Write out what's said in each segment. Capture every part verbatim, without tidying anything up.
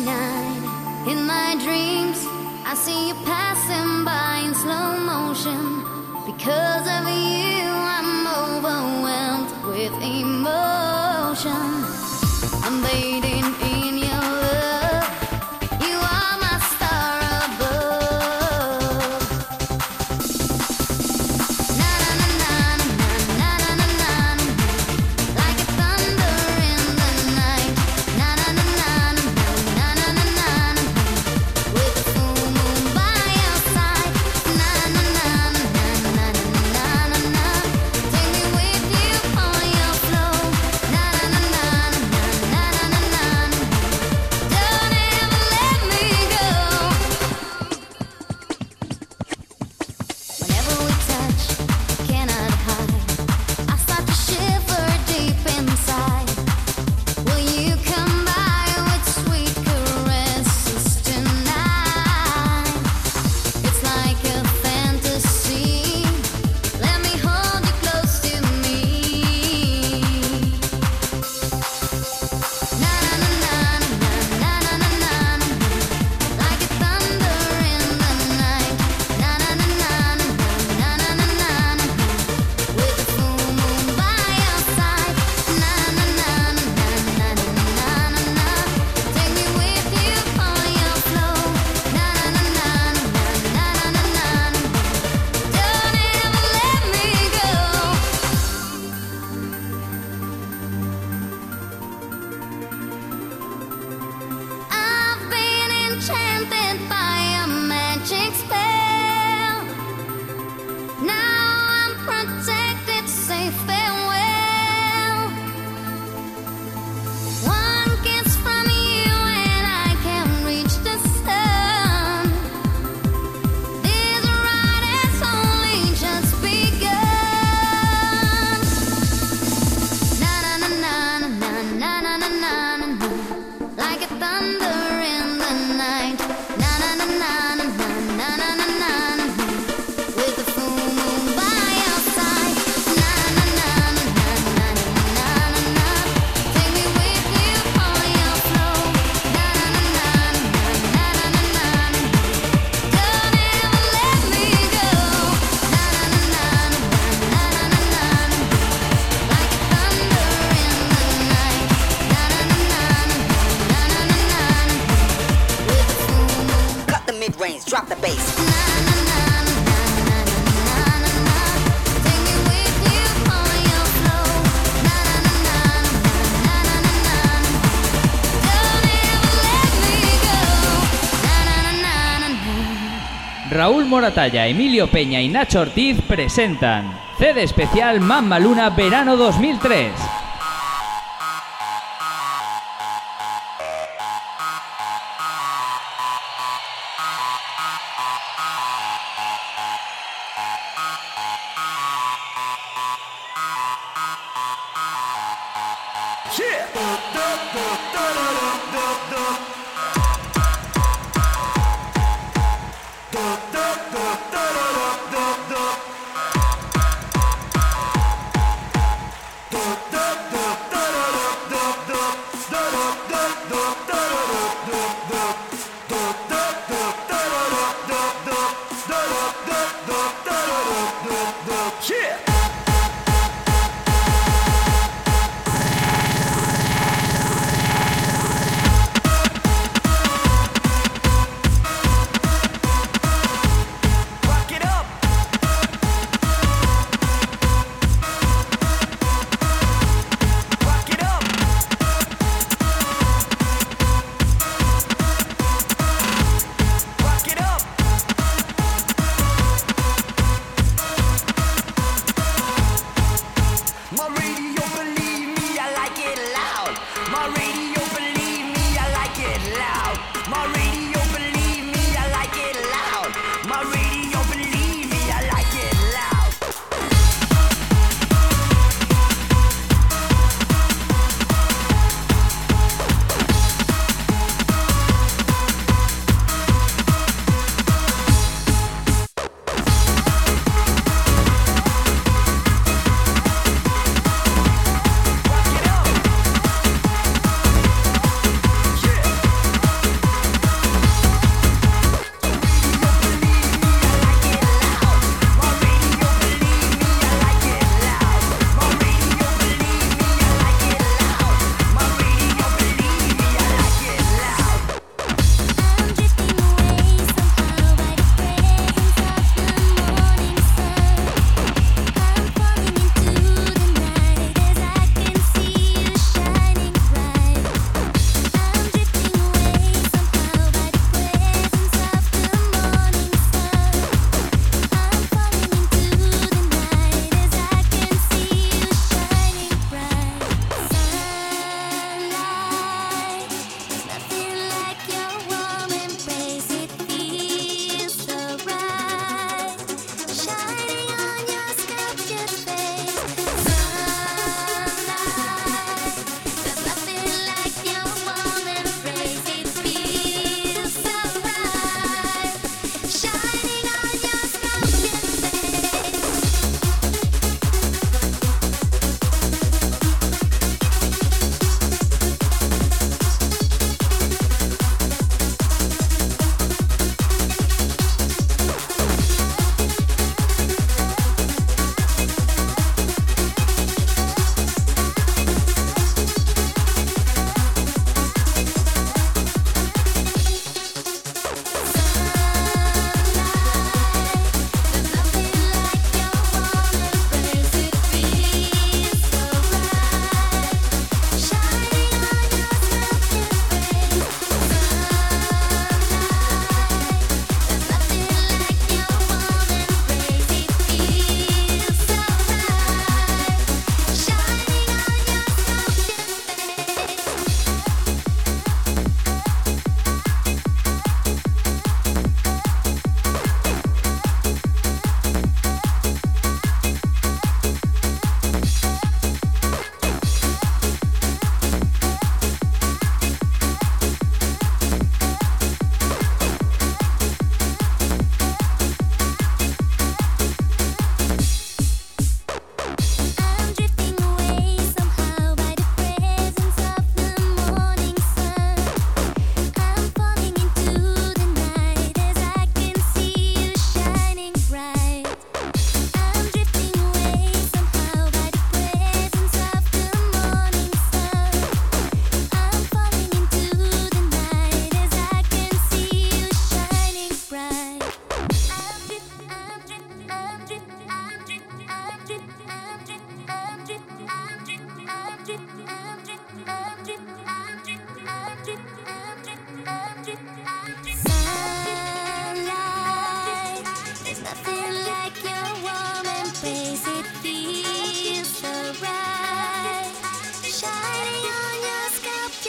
night, in my dreams, I see you passing by in slow motion. Because of you, I'm overwhelmed with emotion. I'm waiting in your love. You are my star above. Na na na na na na na na na, like a thunder in the night. Na na na na na na na na na, with the full moon by your side. Na na na na na na na na na, take me with you on your flow. Na na na na na na na na na, don't ever let me go. Whenever we touch, cannot hide. I start to shiver deep inside. Will you come by with sweet caresses tonight? It's like a fantasy. Let me hold you close to me. Na na na na na na na na na, like a thunder in the night. Na na na na na na na na na, with the full moon by your side. Na na na na na na na na, take me with you on your flow. Na na na na na na na na, don't ever let me go. I've been enchanted by a magic spell. Now I'm protected, say farewell. One kiss from you and I can reach the sun. This ride has only just begun. Na na na na na na na na na na, like a thunder in the night. Na na na na na na na na na, with the full moon by your side. Na na na na na na na na, take me with you on your flow. Na na na na na na na na, don't ever let me go. Na na na na na na na, like a thunder in the night. Na na na na na na na na, with the full moon. Cut the mid-range, drop the bass. Na na na na na na na na, take me with you on your flow. Na na na na na na na, don't ever let me go. Na na na na na. Raúl Moratalla, Emilio Peña y Nacho Ortiz presentan C D especial Mamma Luna Verano dos mil tres.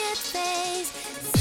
sweet face.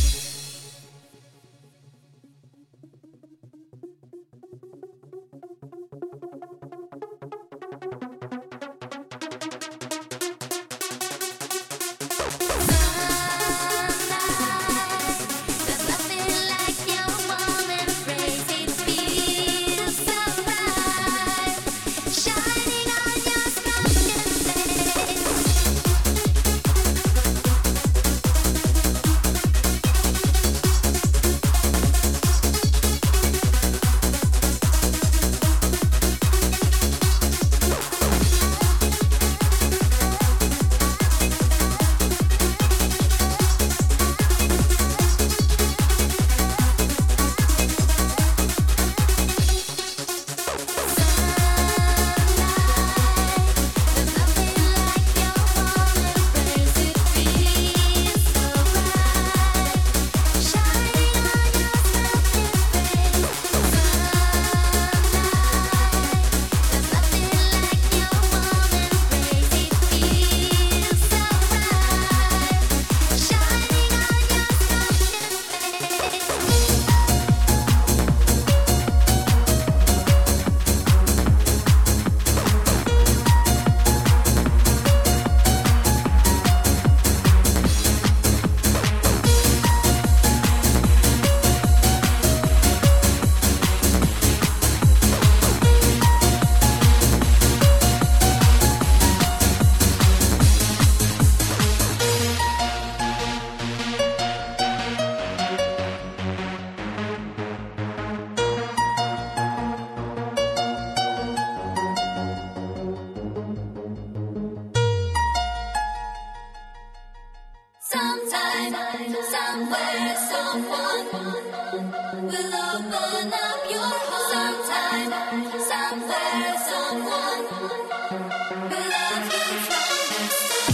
Somewhere, someone will open up your heart. Sometime, somewhere, someone will love you from the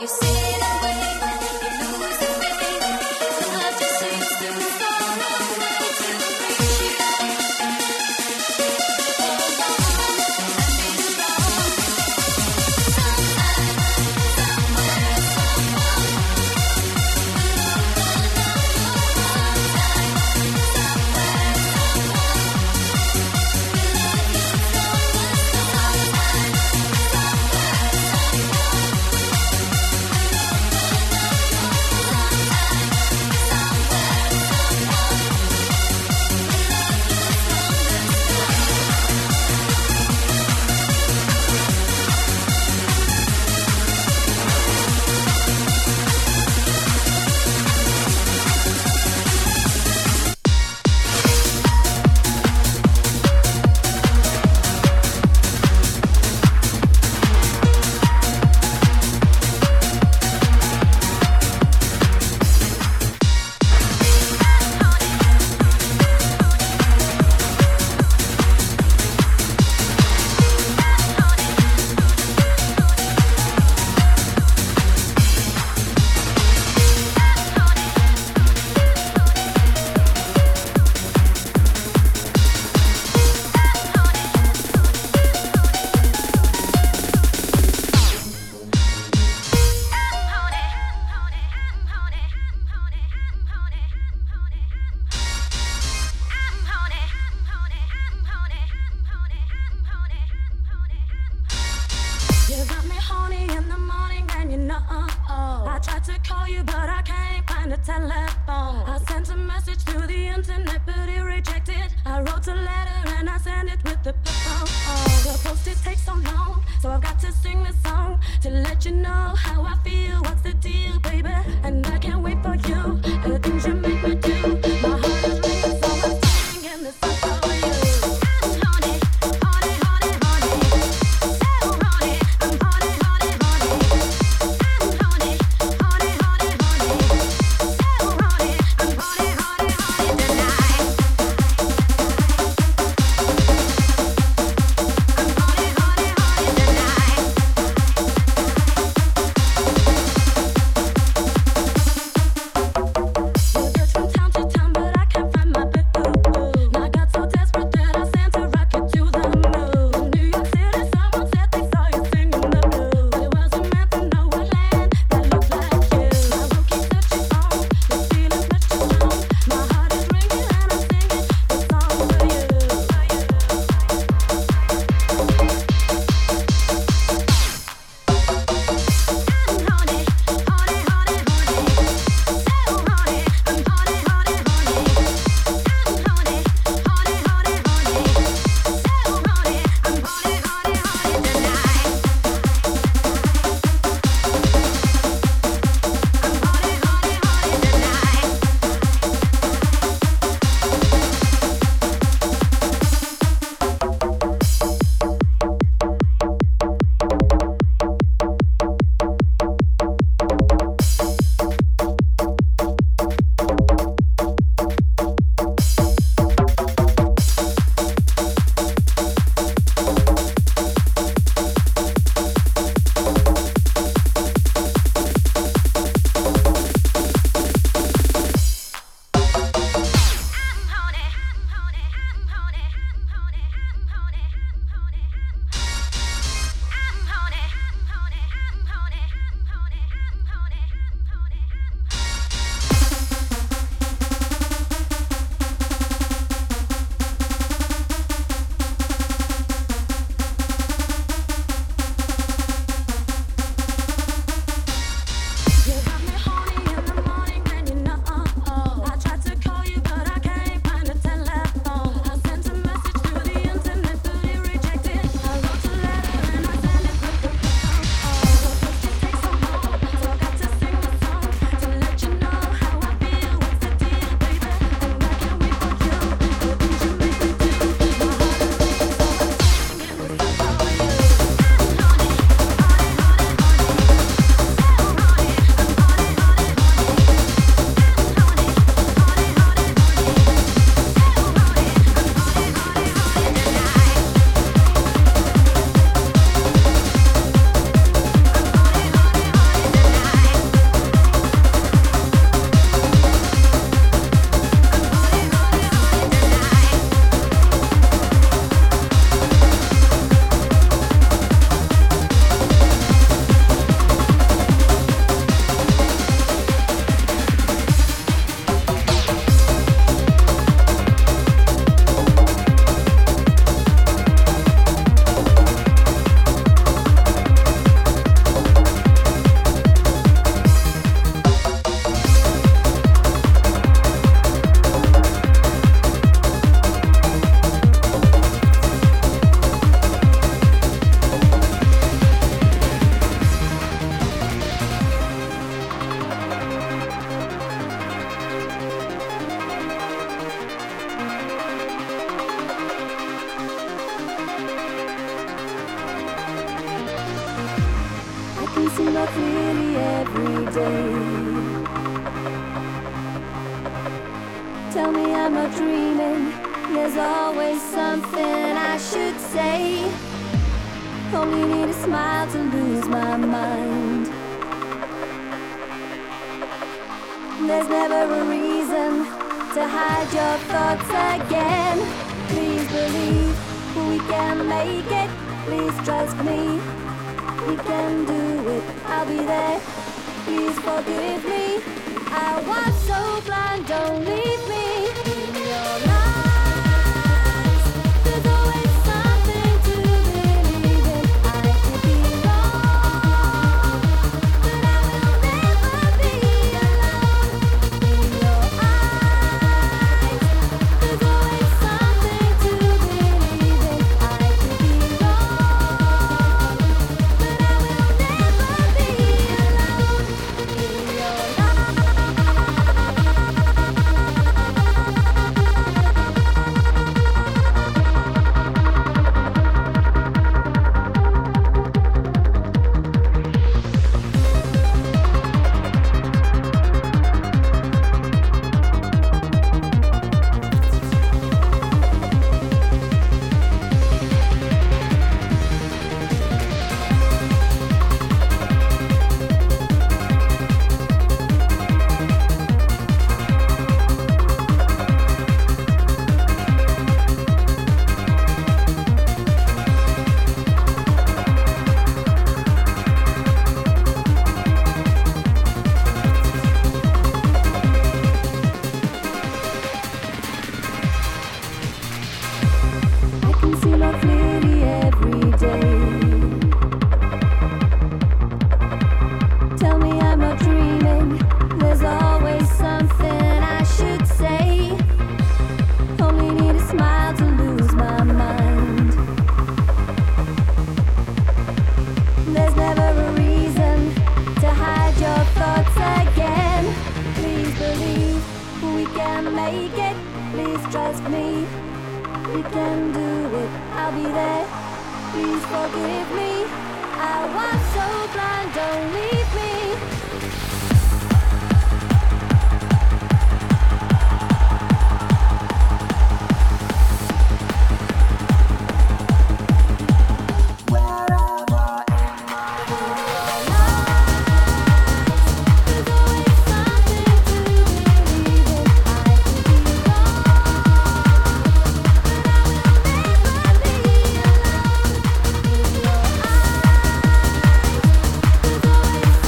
Tonight can see more clearly every day. Tell me I'm not dreaming, there's always something I should say. Only need a smile to lose my mind. There's never a reason to hide your thoughts again. Please believe we can make it, please trust me. We can do it, I'll be there. Please forgive me. I was so blind, don't leave me in your lies. There's always something to believe in. I could be wrong, but I will never be alone. In your eyes, there's always something to believe in. I could be wrong, but I will never be alone. In your I can see more clearly every day. Tell me I'm not dreaming, there's always something I should say. Only need a smile to lose my mind. There's never a reason to hide your thoughts again. Please believe we can make it, please trust me. We can do it, I'll be there. Please forgive me. I was so blind, don't leave me. There's always something to believe in. I could be wrong, but I will never be alone. In your eyes, there's always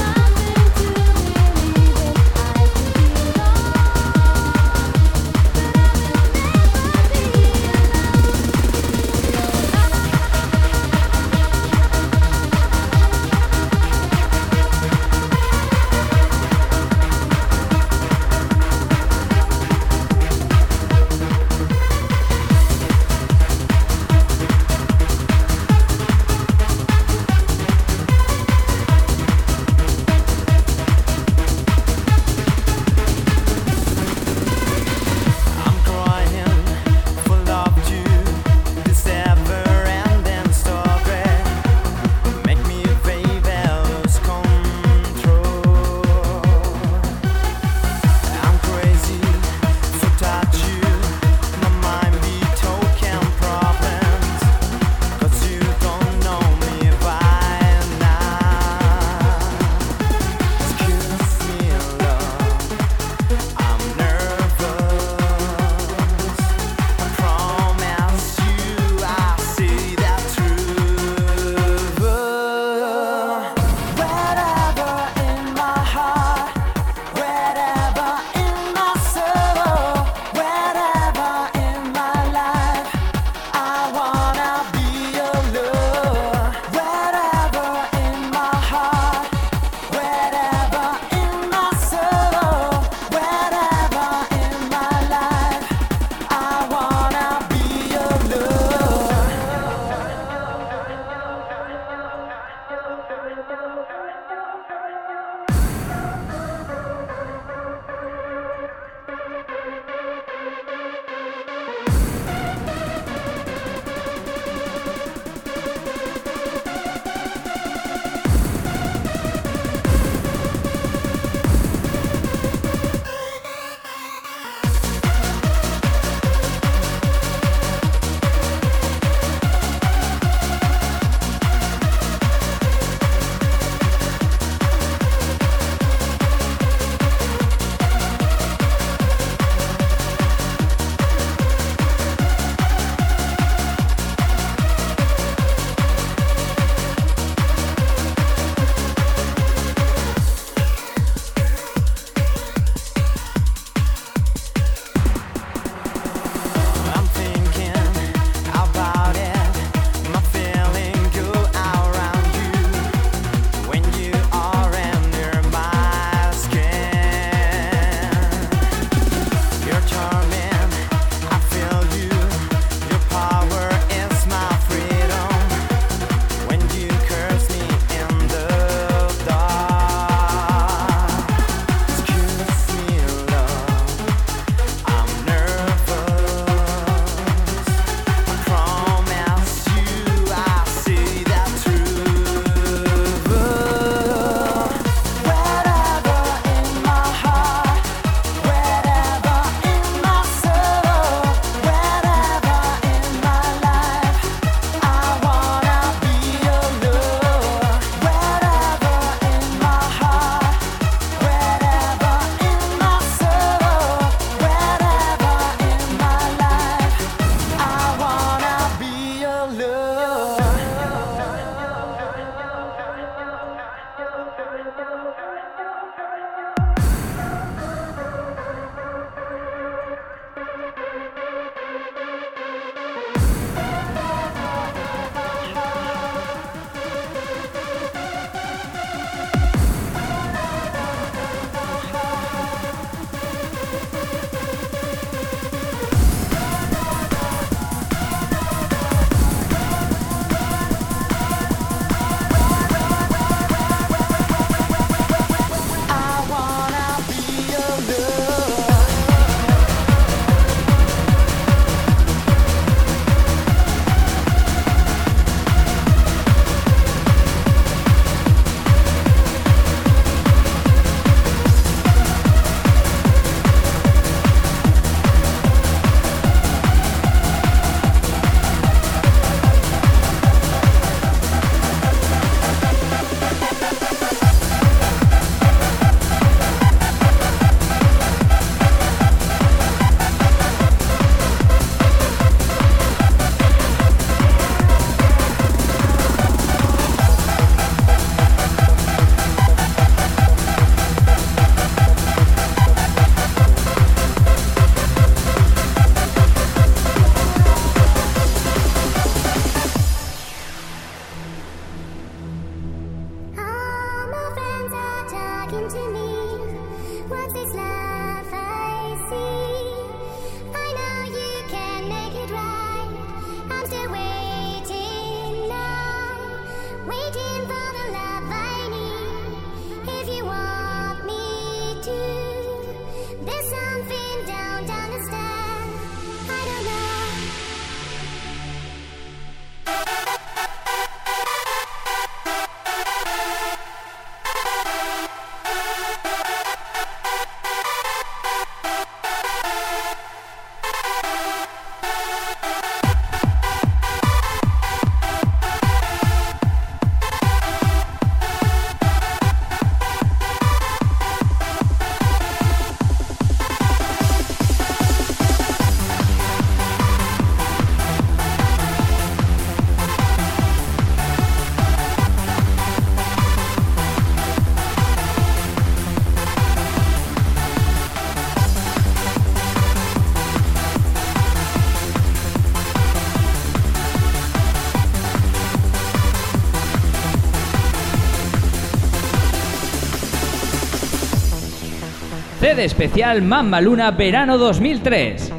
C D especial Mamma Luna verano dos mil tres.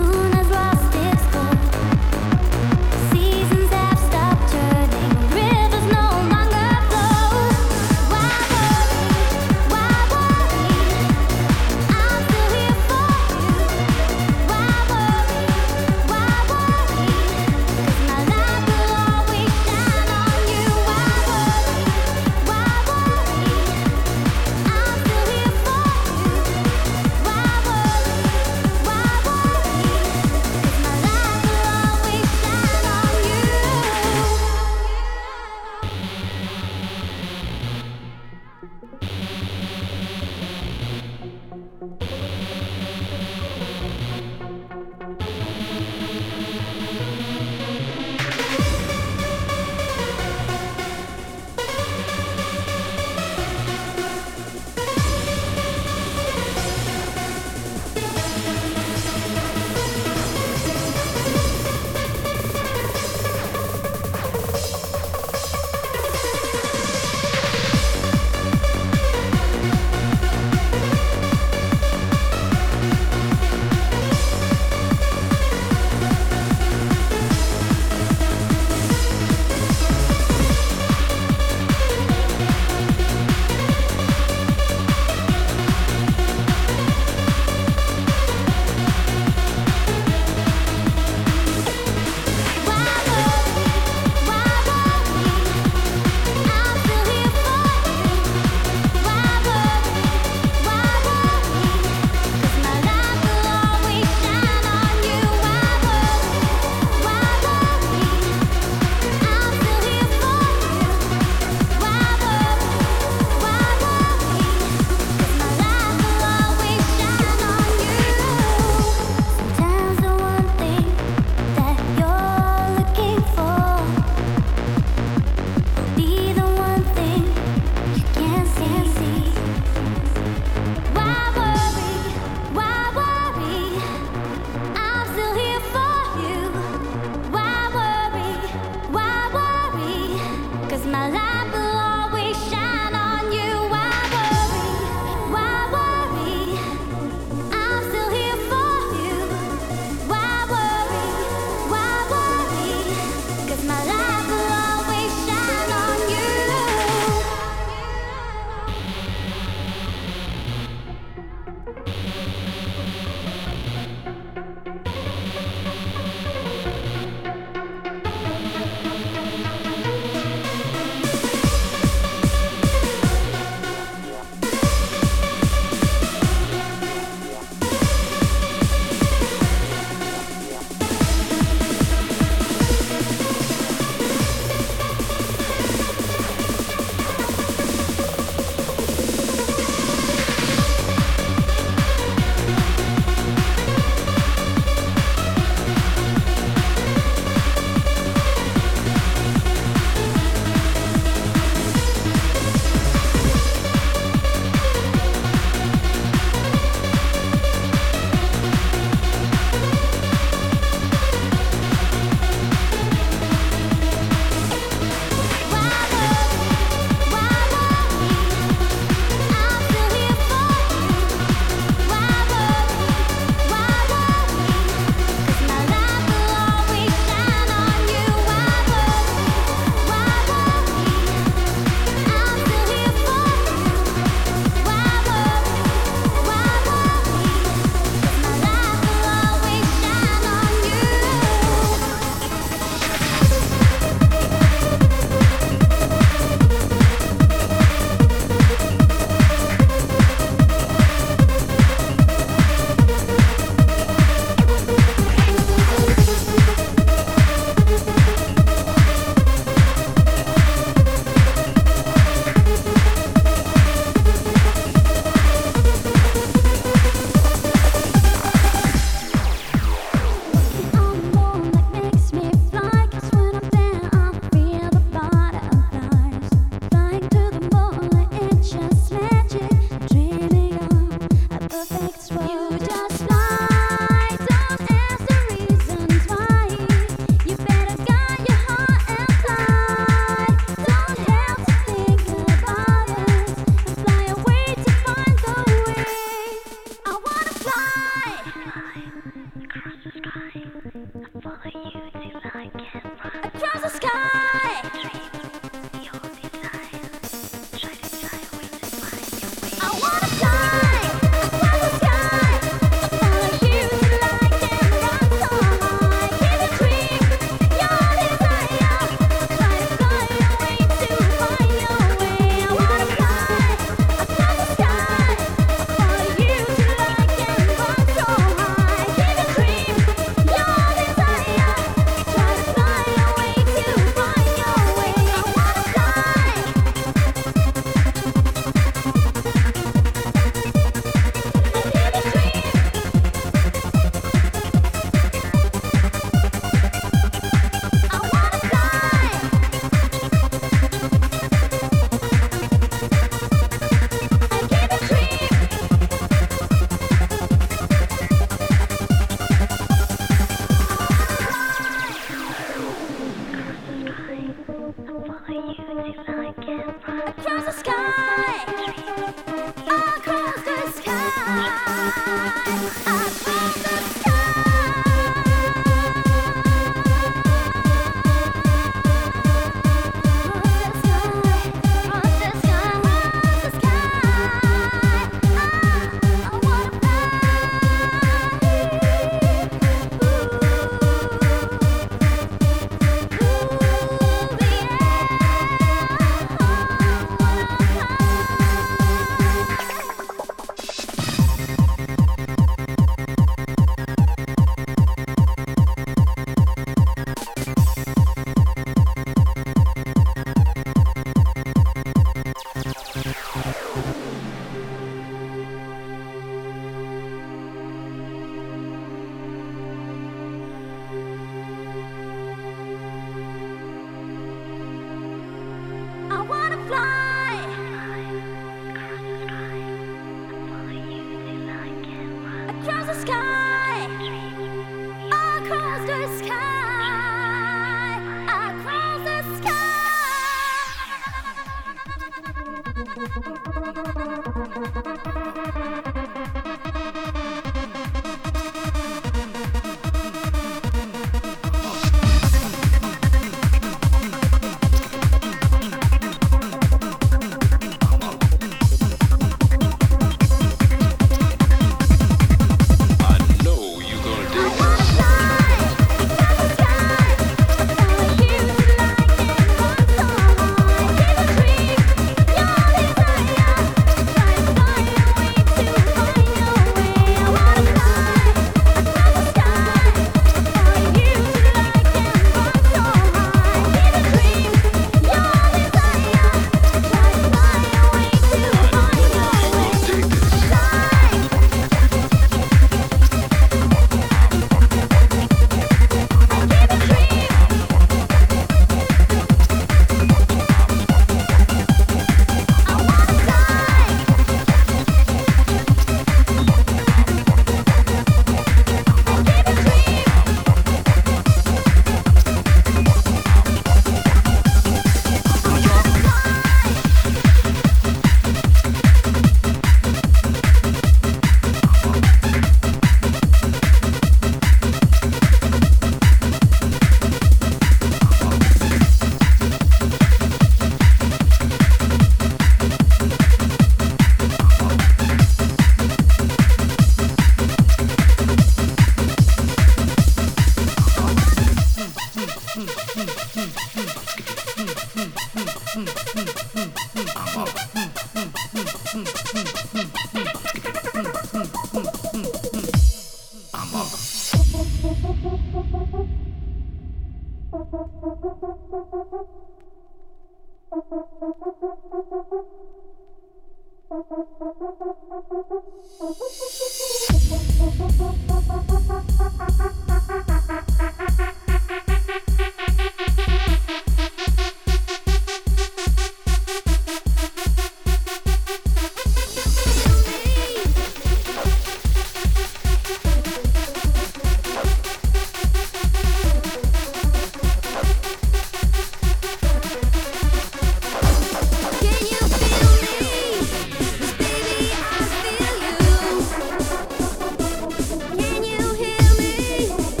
Can you hear me?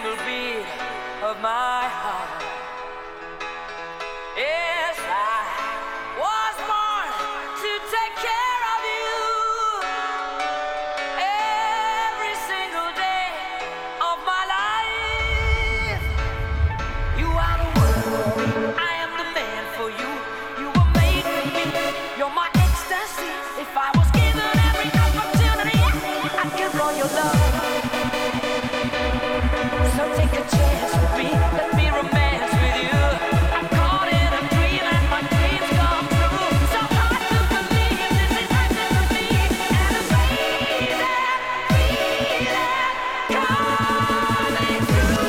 single beat of my heart. Yes, I was born to take care of you every single day of my life. You are the one, I am the man for you. You were made for me, you're my ecstasy. If I was given every opportunity, I'd give all your love. So take a chance with me, let me romance with you. I'm caught in a dream and my dreams come true. So hard to believe this is happening to me. And it's crazy, feeling coming through.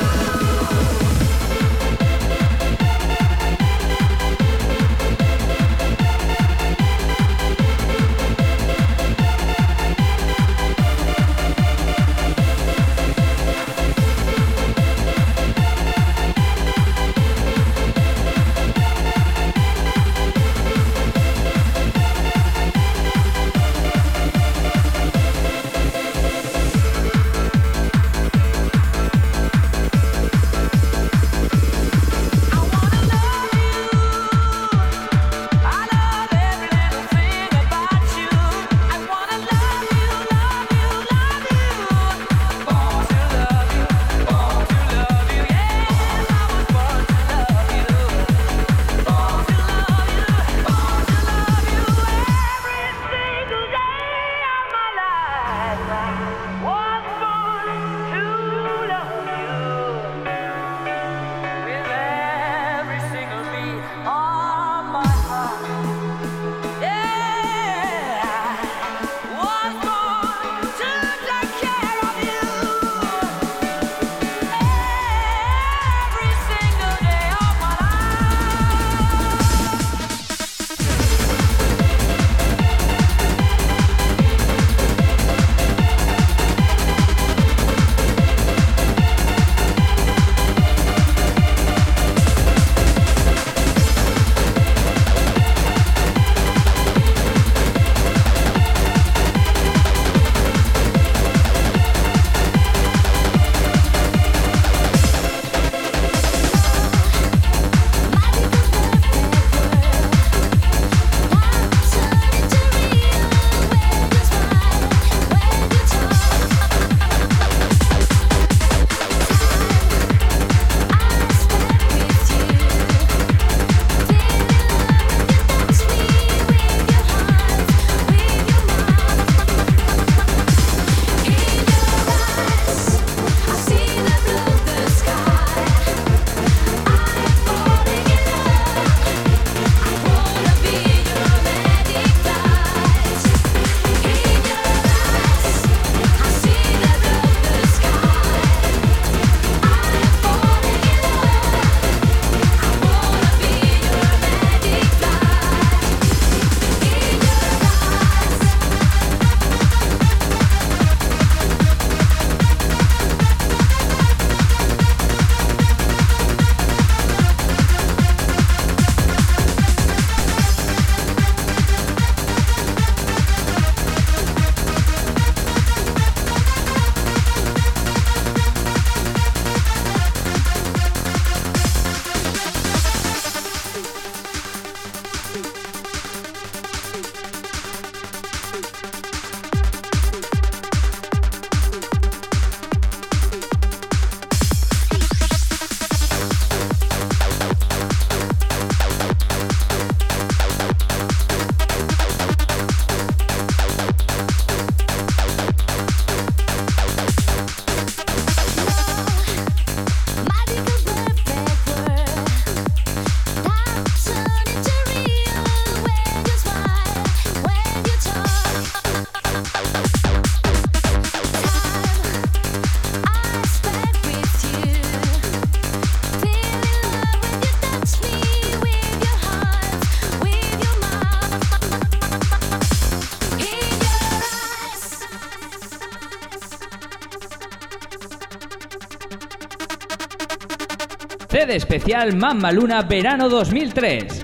C D especial Mamma Luna Verano dos mil tres.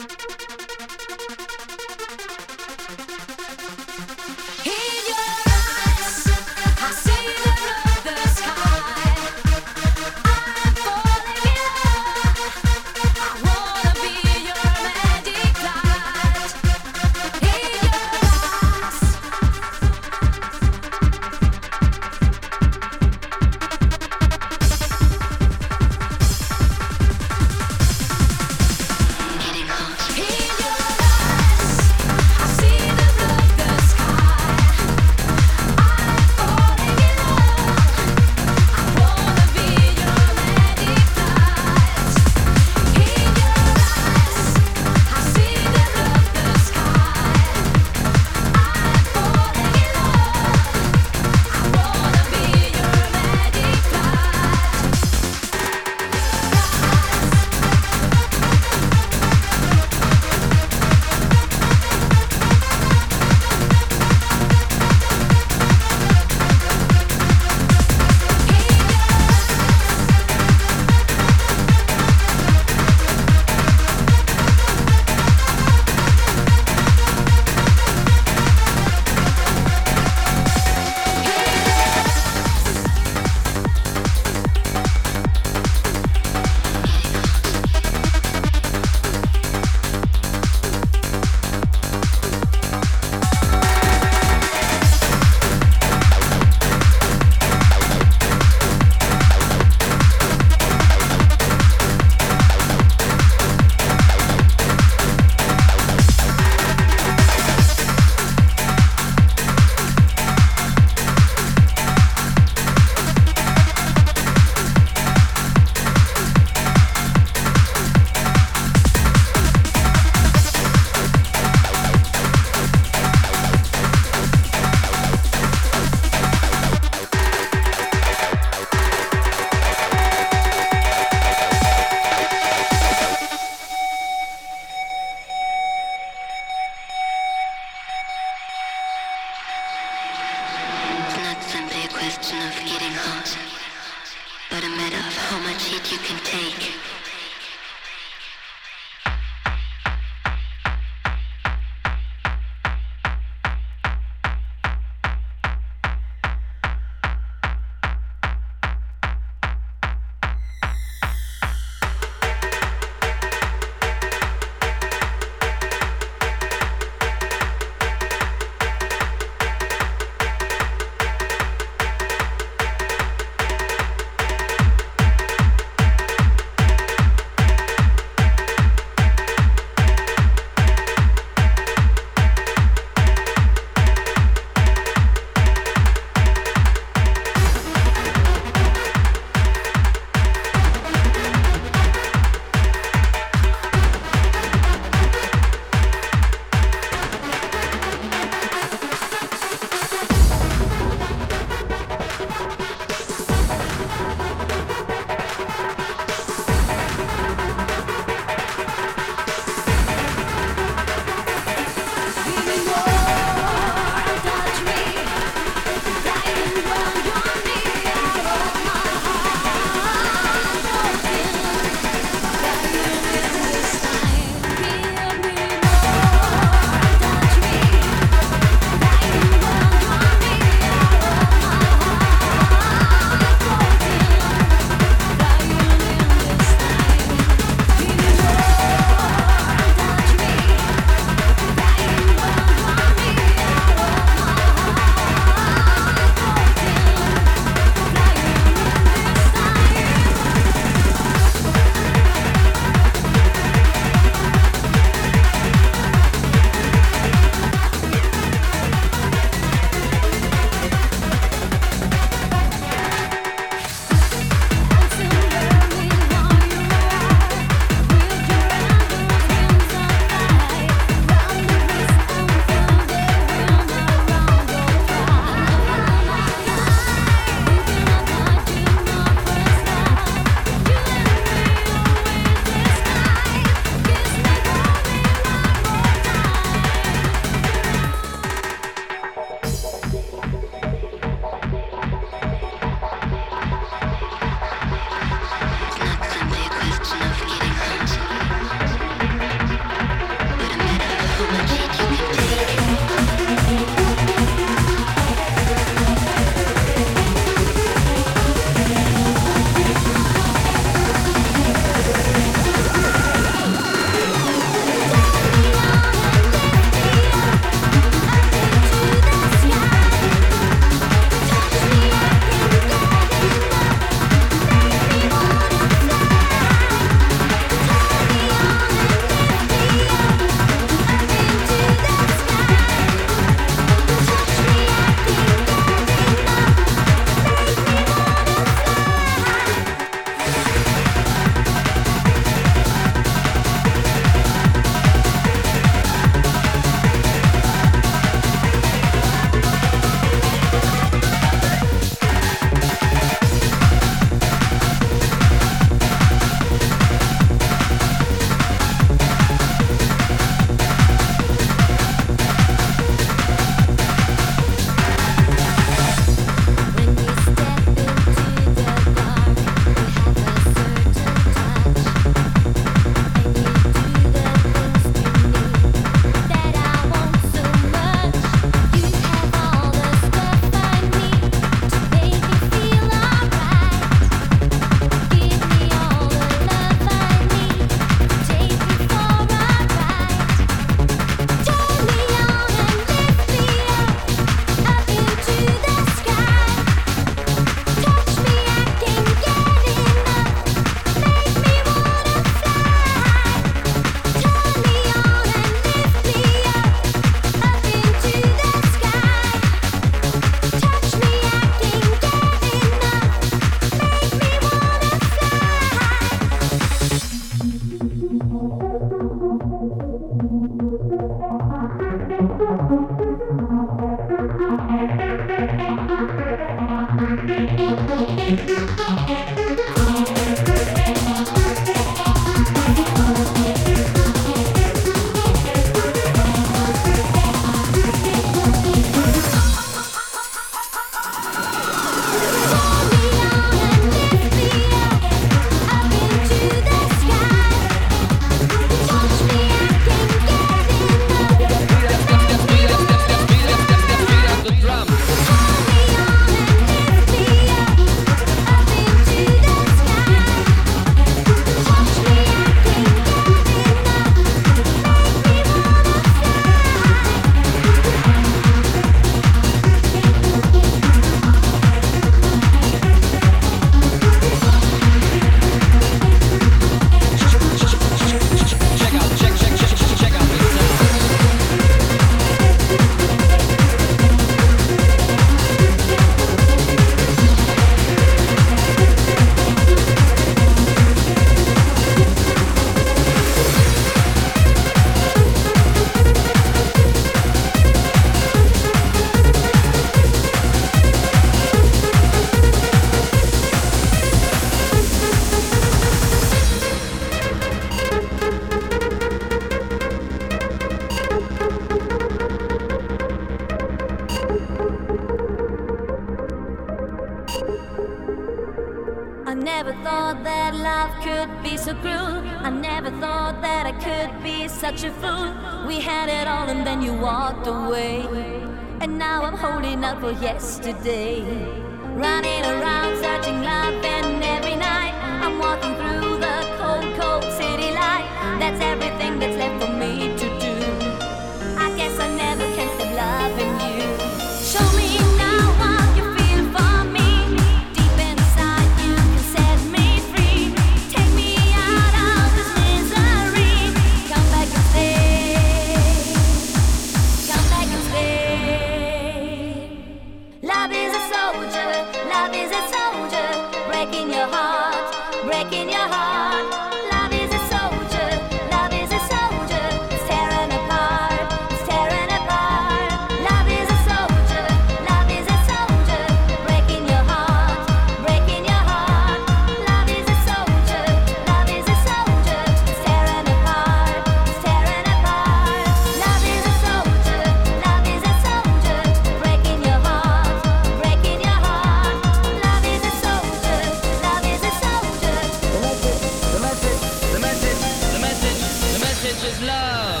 never thought that love could be so cruel. I never thought that I could be such a fool. We had it all and then you walked away, and now I'm holding out for yesterday. Running around searching love, and every night I'm walking through the cold, cold city light. That's everything that's left for me to do. I guess I never can stop loving you. Show me now what you feel for me. Deep inside you can set me free. Take me out of this misery. Come back and stay. Come back and stay. Love is a soldier. Love is a soldier. Breaking your heart. Breaking your heart. Love is a soldier. Love is a soldier. It's tearing apart. It's tearing apart. Love is a soldier. Love is a soldier. Breaking your heart. Breaking your heart. Love is a soldier. Love is a soldier. It's tearing apart. It's tearing apart. Love is a soldier. Love is a soldier. Breaking your heart. Breaking your heart. Love is a soldier. Love is a soldier. The message, the message, the message, the message is love.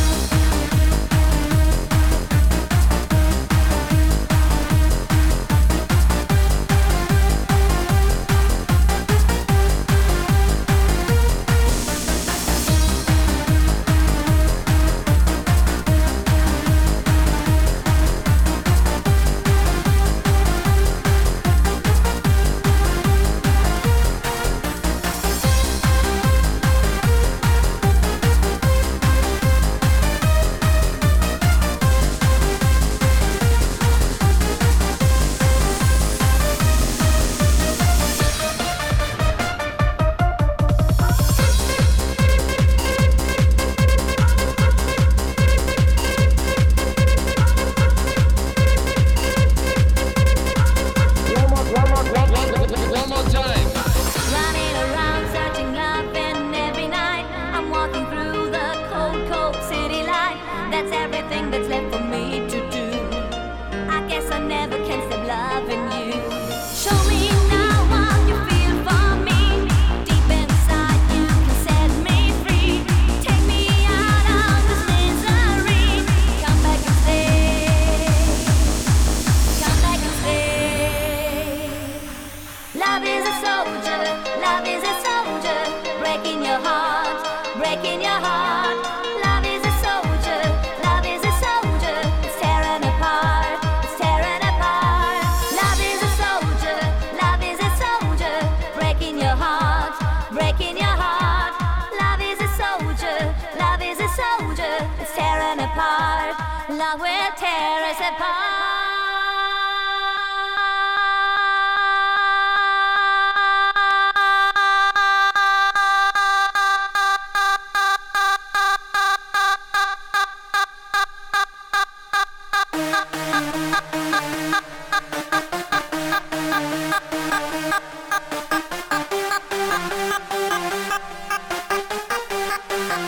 One more time. Running around searching love, and every night I'm walking through the cold, cold city light. That's everything that's left for me to do. I guess I never can stop loving you. Show me now what you feel for me. Deep inside you can set me free. Take me out of this misery. Come back and stay. Come back and stay. Love is a soldier, love is a soldier, breaking your heart, breaking your heart. Love is a soldier, love is a soldier, it's tearing apart, it's tearing apart. Love is a soldier, love is a soldier, breaking your heart, breaking your heart. Love is a soldier, love is a soldier, it's tearing apart. Love will tear us apart.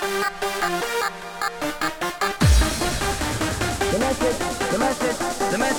The message, the message, the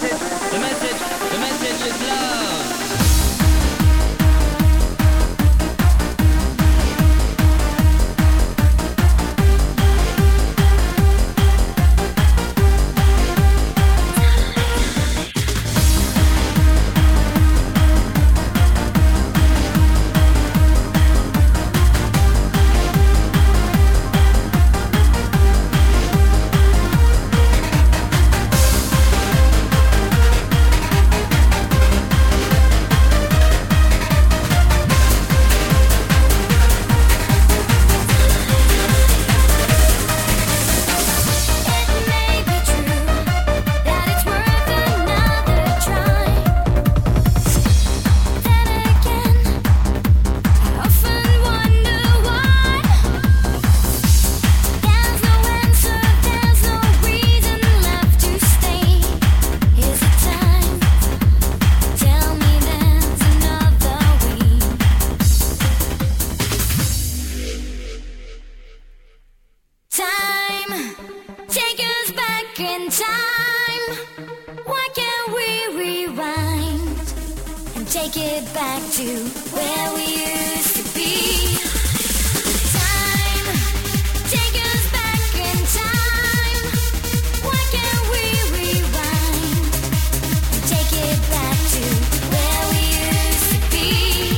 take it back to where we used to be. Time, take us back in time. Why can't we rewind? Take it back to where we used to be.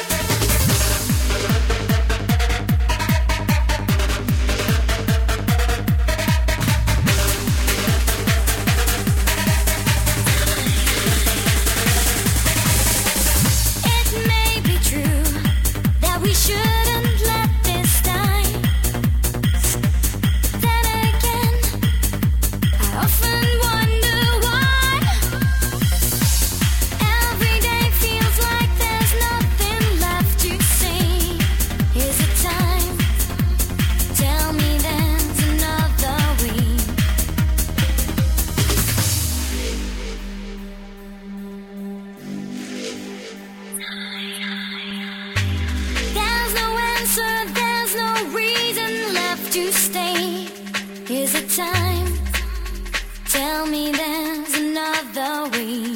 It may be true that we shouldn't let this die. Then again, I often wonder why. Every day feels like there's nothing left to say. Is it time? Tell me there's another way. There's no answer, there's no reason left to stay. Is it time? Tell me there's another way.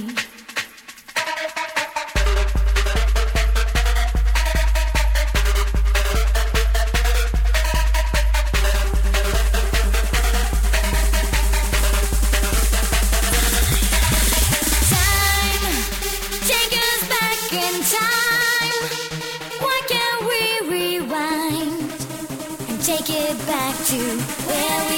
Time, take us back in time. Why can't we rewind and take it back to where we